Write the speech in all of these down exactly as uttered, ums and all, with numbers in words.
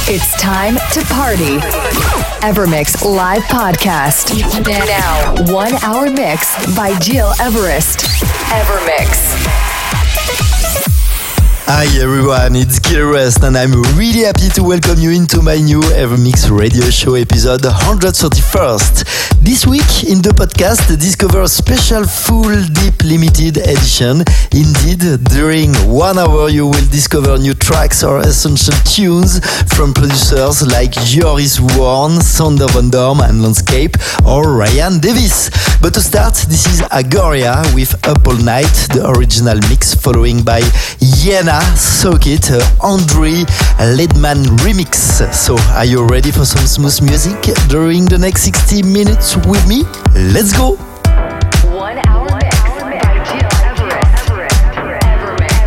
It's time to party. Evermix Live Podcast. Now, one hour mix by Gil Everest. Evermix. Hi everyone, it's Gil Everest and I'm really happy to welcome you into my new Evermix radio show episode one thirty-first. This week in the podcast, discover a special full deep limited edition. Indeed, during one hour you will discover new tracks or essential tunes from producers like Joris Voorn, Sander Van Dorm and Landscape or Ryan Davis. But to start, this is Agoria with Up All Night, the original mix, following by Yena Soak It, uh, Andre Ledman remix. So, are you ready for some smooth music during the next sixty minutes with me? Let's go! One hour mix by Gil Everest. Evermix.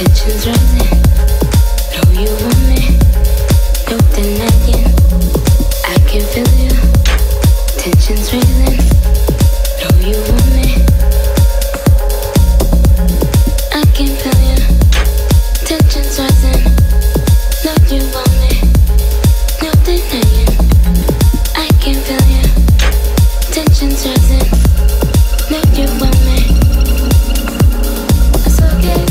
tensions rising. Know you want me, no denying. I can feel you, tensions rising. Know you want me, I can feel you, tensions rising. Know you want me, no denying. I can feel you, tensions rising. Know you want me. It's okay.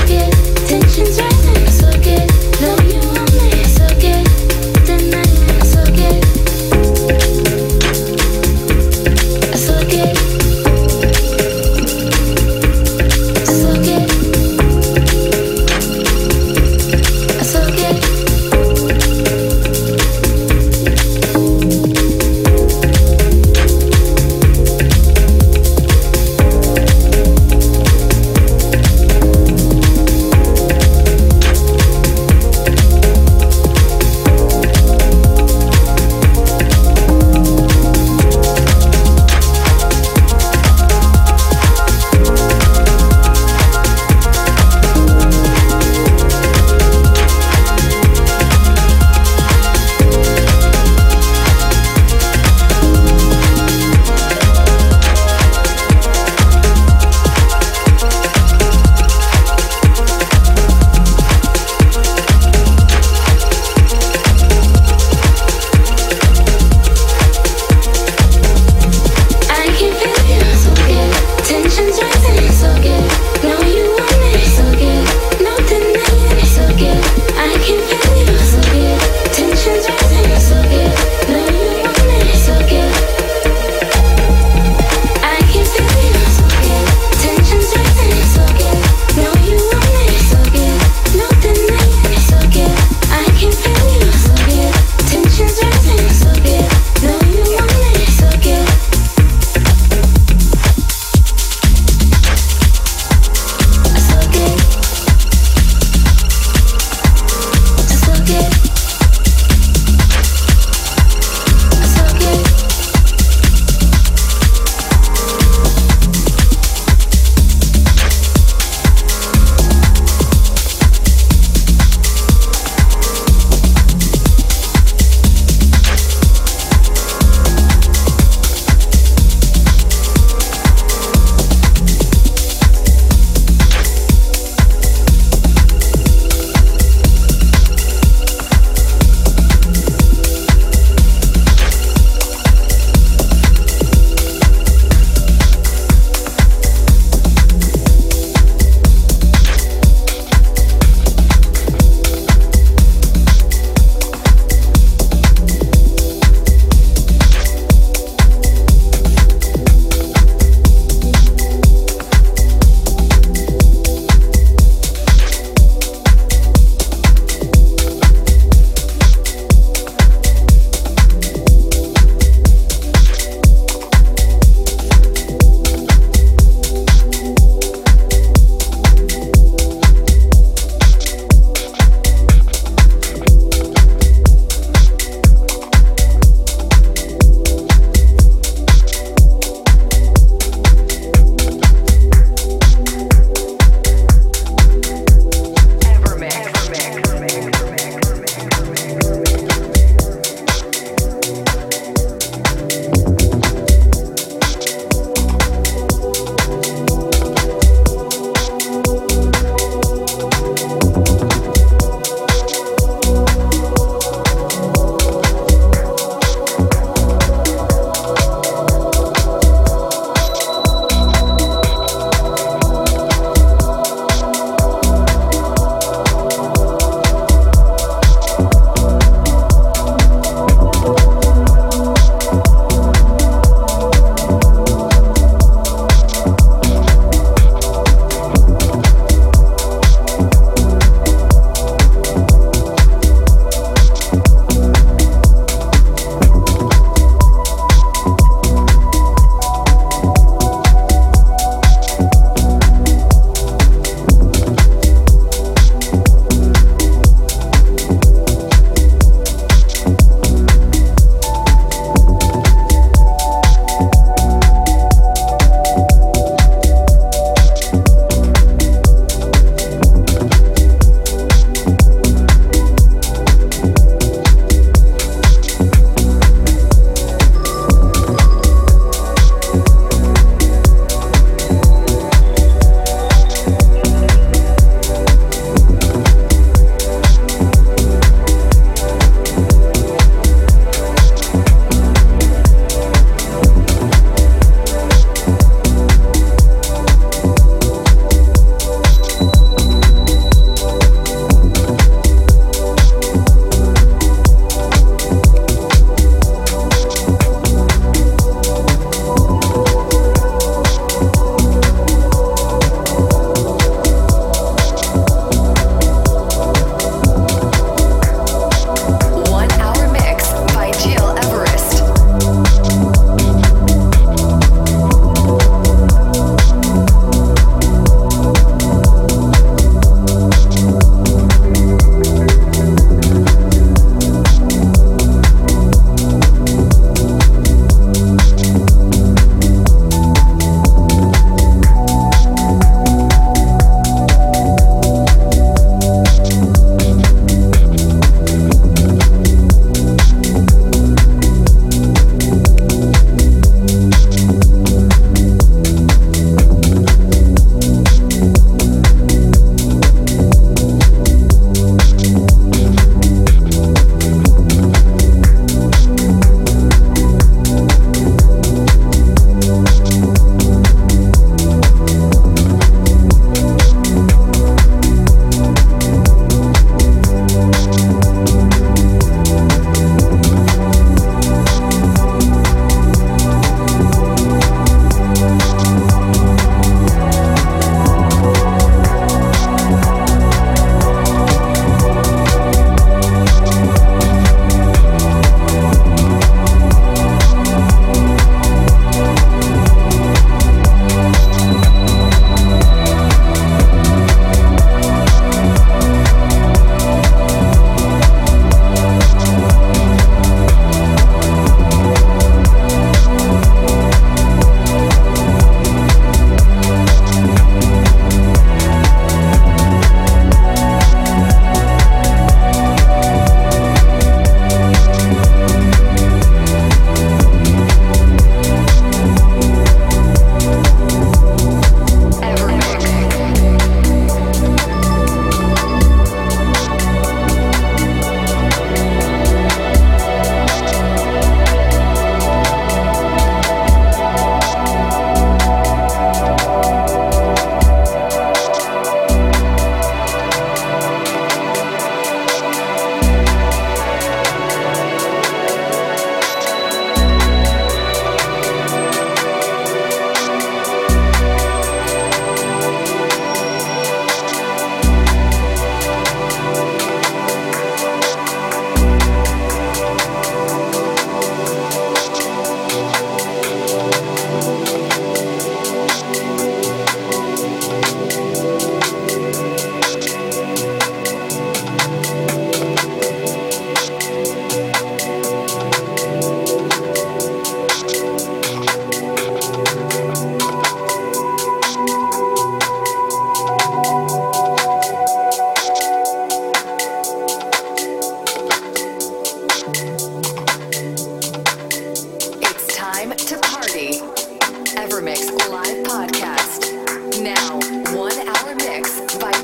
Tensions rising, so good. Know you want me, so good. Tonight,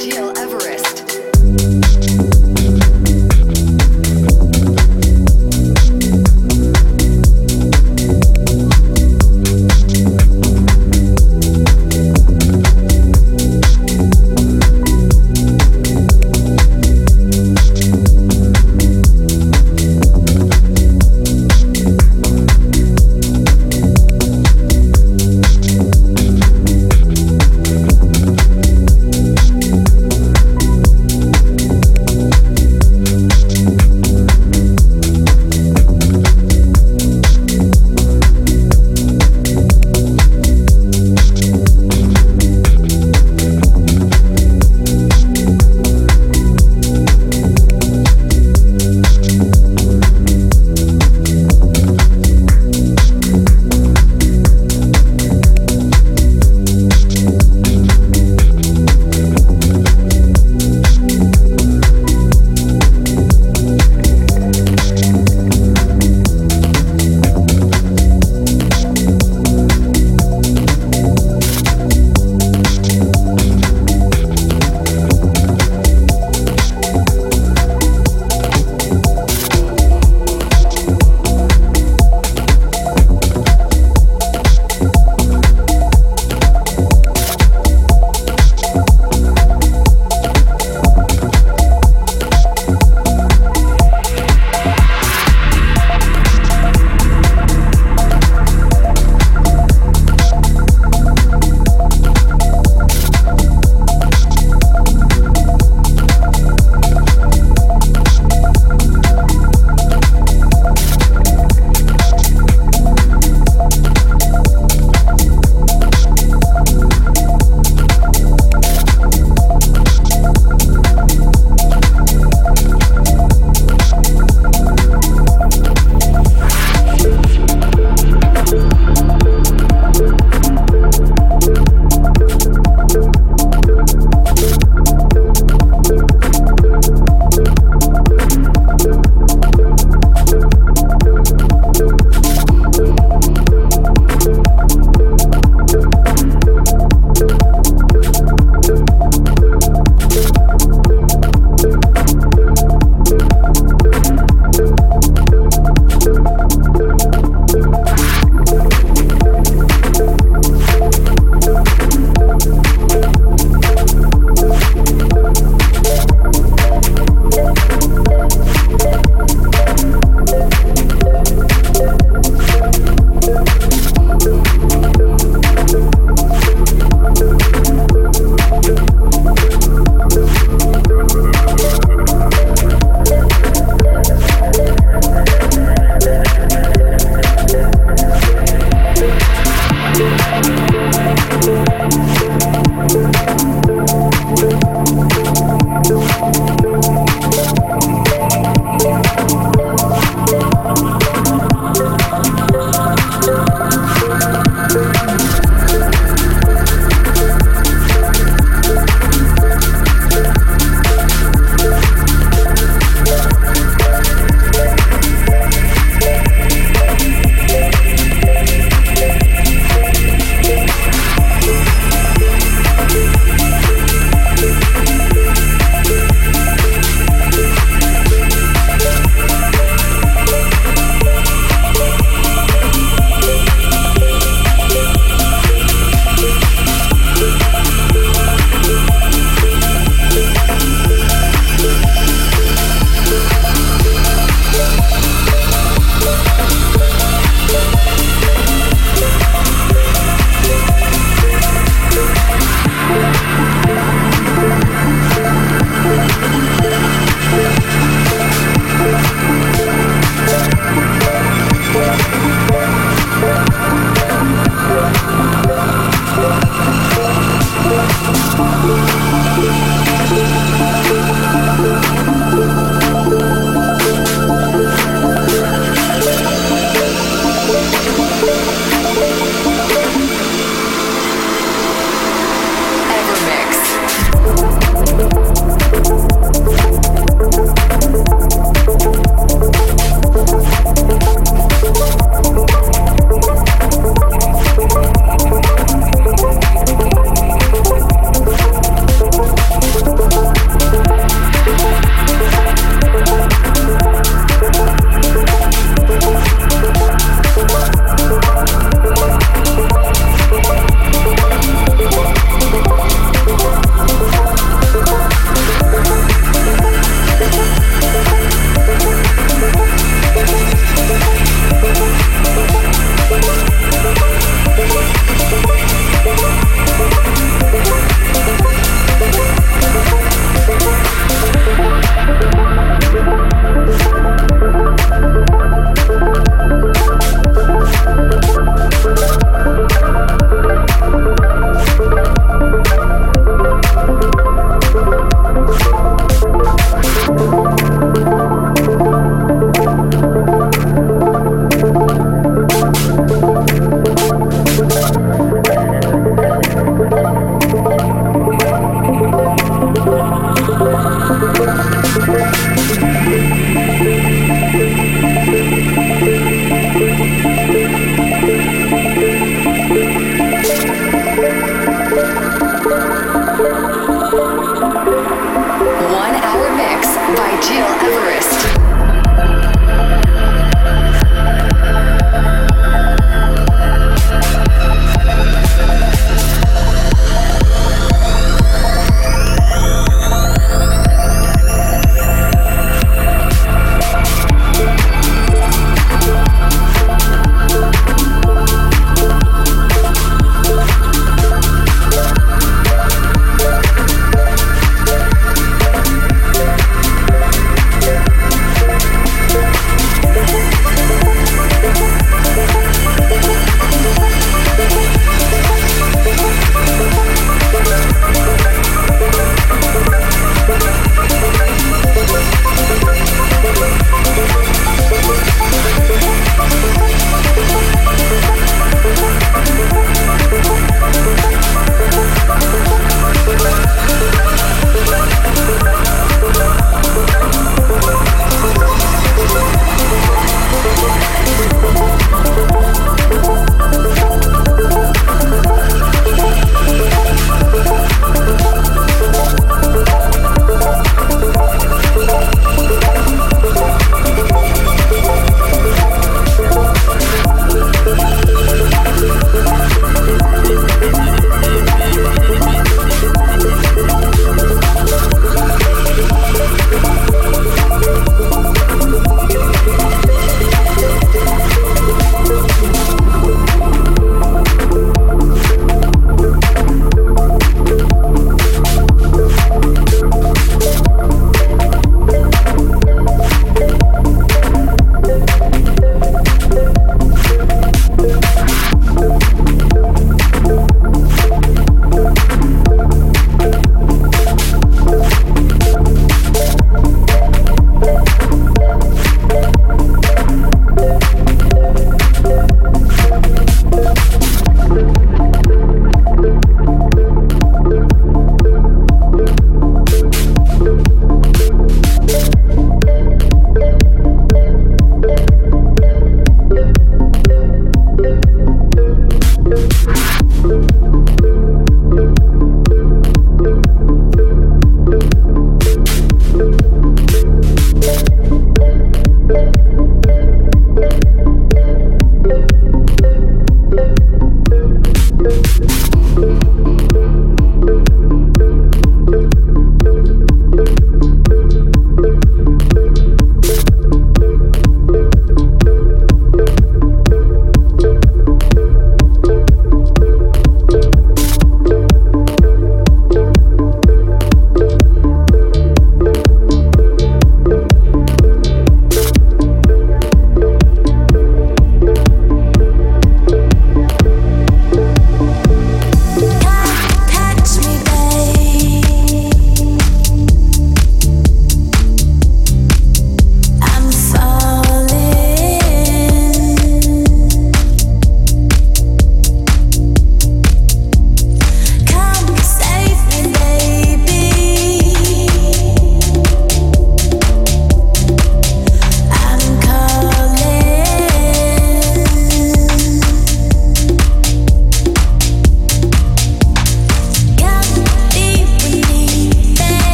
Gil Everest.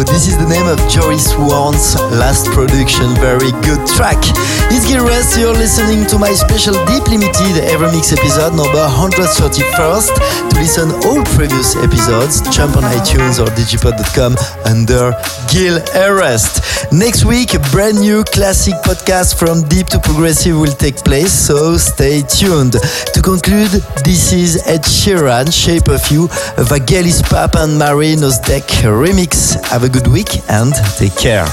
This is the name of Joris Warren's last production, very good track. It's Gil Everest, you're listening to my special Deep Limited Evermix episode number one hundred thirty-first. To listen all previous episodes, jump on iTunes or digipod dot com under Gil Everest. Next week, a brand new classic podcast from Deep to Progressive will take place, so stay tuned. To conclude, this is Ed Sheeran, Shape of You, a Vangelis Pap and Marie Nosdek remix. Have a good week and take care.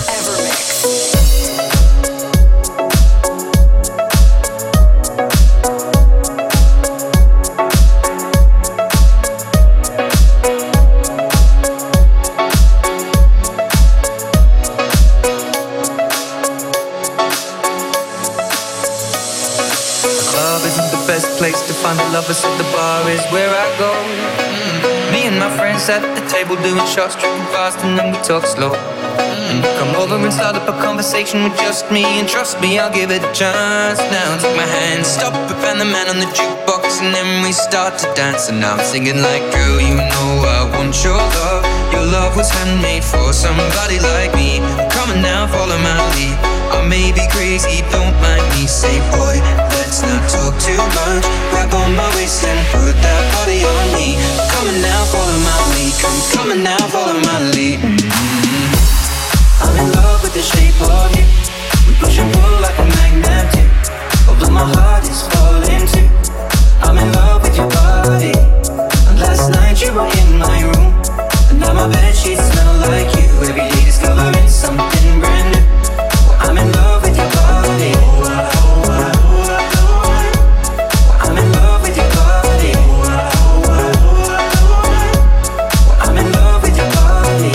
Lovers at the bar is where I go. Mm. Me and my friends at the table doing shots, drinking fast, and then we talk slow. Mm. Come over and start up a conversation with just me, and trust me, I'll give it a chance. Now take my hand, stop it, and the man on the jukebox, and then we start to dance. And I'm singing like, girl, you know I want your love. Your love was handmade for somebody like me. Come on now, follow my lead. I may be crazy, don't mind me. Say, boy, let's not talk too much. Grab on my waist and put that body on me. Come on now, follow my lead. Come, come on now, follow my lead. Mm-hmm. I'm in love with the shape of you. We push and pull like a magnet do. Although my heart is falling too. I'm in love with your body. And last night you were in my room. And now my bedsheets smell like you. Every day discovering something brand new. Well, I'm in love with your body. I'm in love with your body. I'm in love with your body.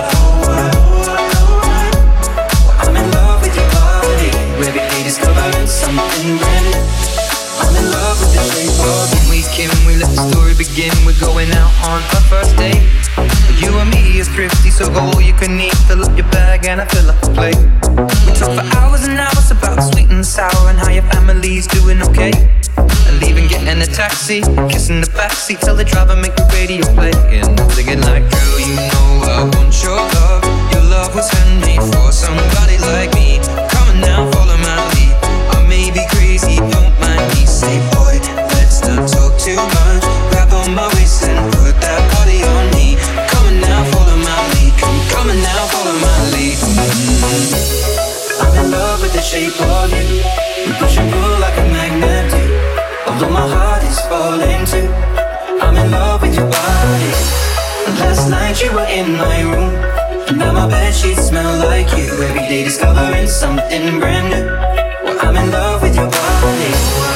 I'm in love with your body. Every day discovering something brand new. I'm in love with the shape of you. We came, we let the story begin. We're going out on our first date. You and me is thrifty, so go all you can eat. Fill up your bag and I fill up the plate. We talk for hours and hours about the sweet and the sour and how your family's doing okay. And leaving, getting in a taxi, kissing the backseat, tell the driver make the radio play. And I'm thinking like, girl, you know I want your love. Your love was handmade for somebody like me. Come on now, follow my lead. I may be crazy, don't mind me. Say, boy, let's not talk too much. Grab on my waist and put that body on me. Come on now, follow my lead. Come, come on now, follow my lead. Mm-hmm. I'm in love with the shape of you. We push and pull like a magnet do. Although my heart is falling too. I'm in love with your body. And last night you were in my room. And now my bedsheets smell like you. Every day discovering something brand new. Well, I'm in love with your body.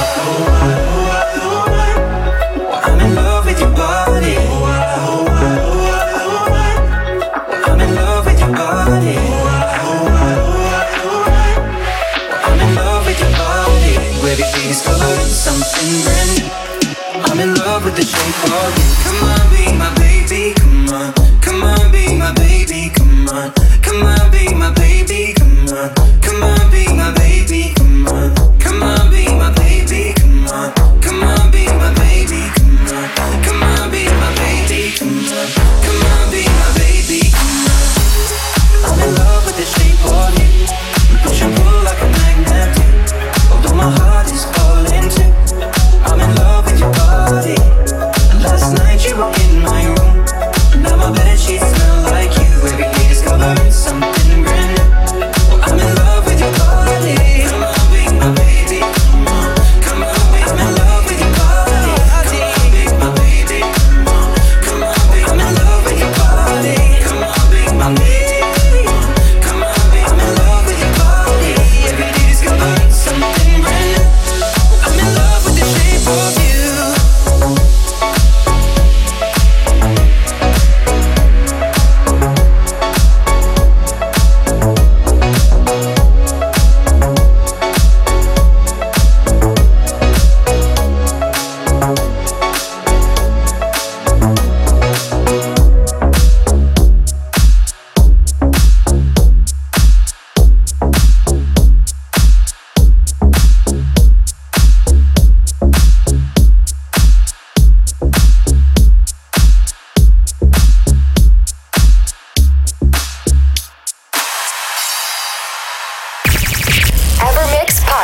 I'm in love with your body. I'm in love with your body. I'm in love with your body. Every day discovering something brand new. I'm in love with the shape of you. Come on, be my baby, come on. Come on, be my baby, come on. Come on, be my baby, come on. Come on, be my baby, come on. Come on, be my baby, come on.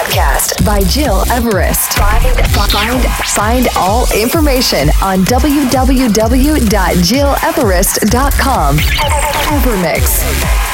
podcast by Gil Everest. Find, find, find all information on w w w dot gil everest dot com. Evermix.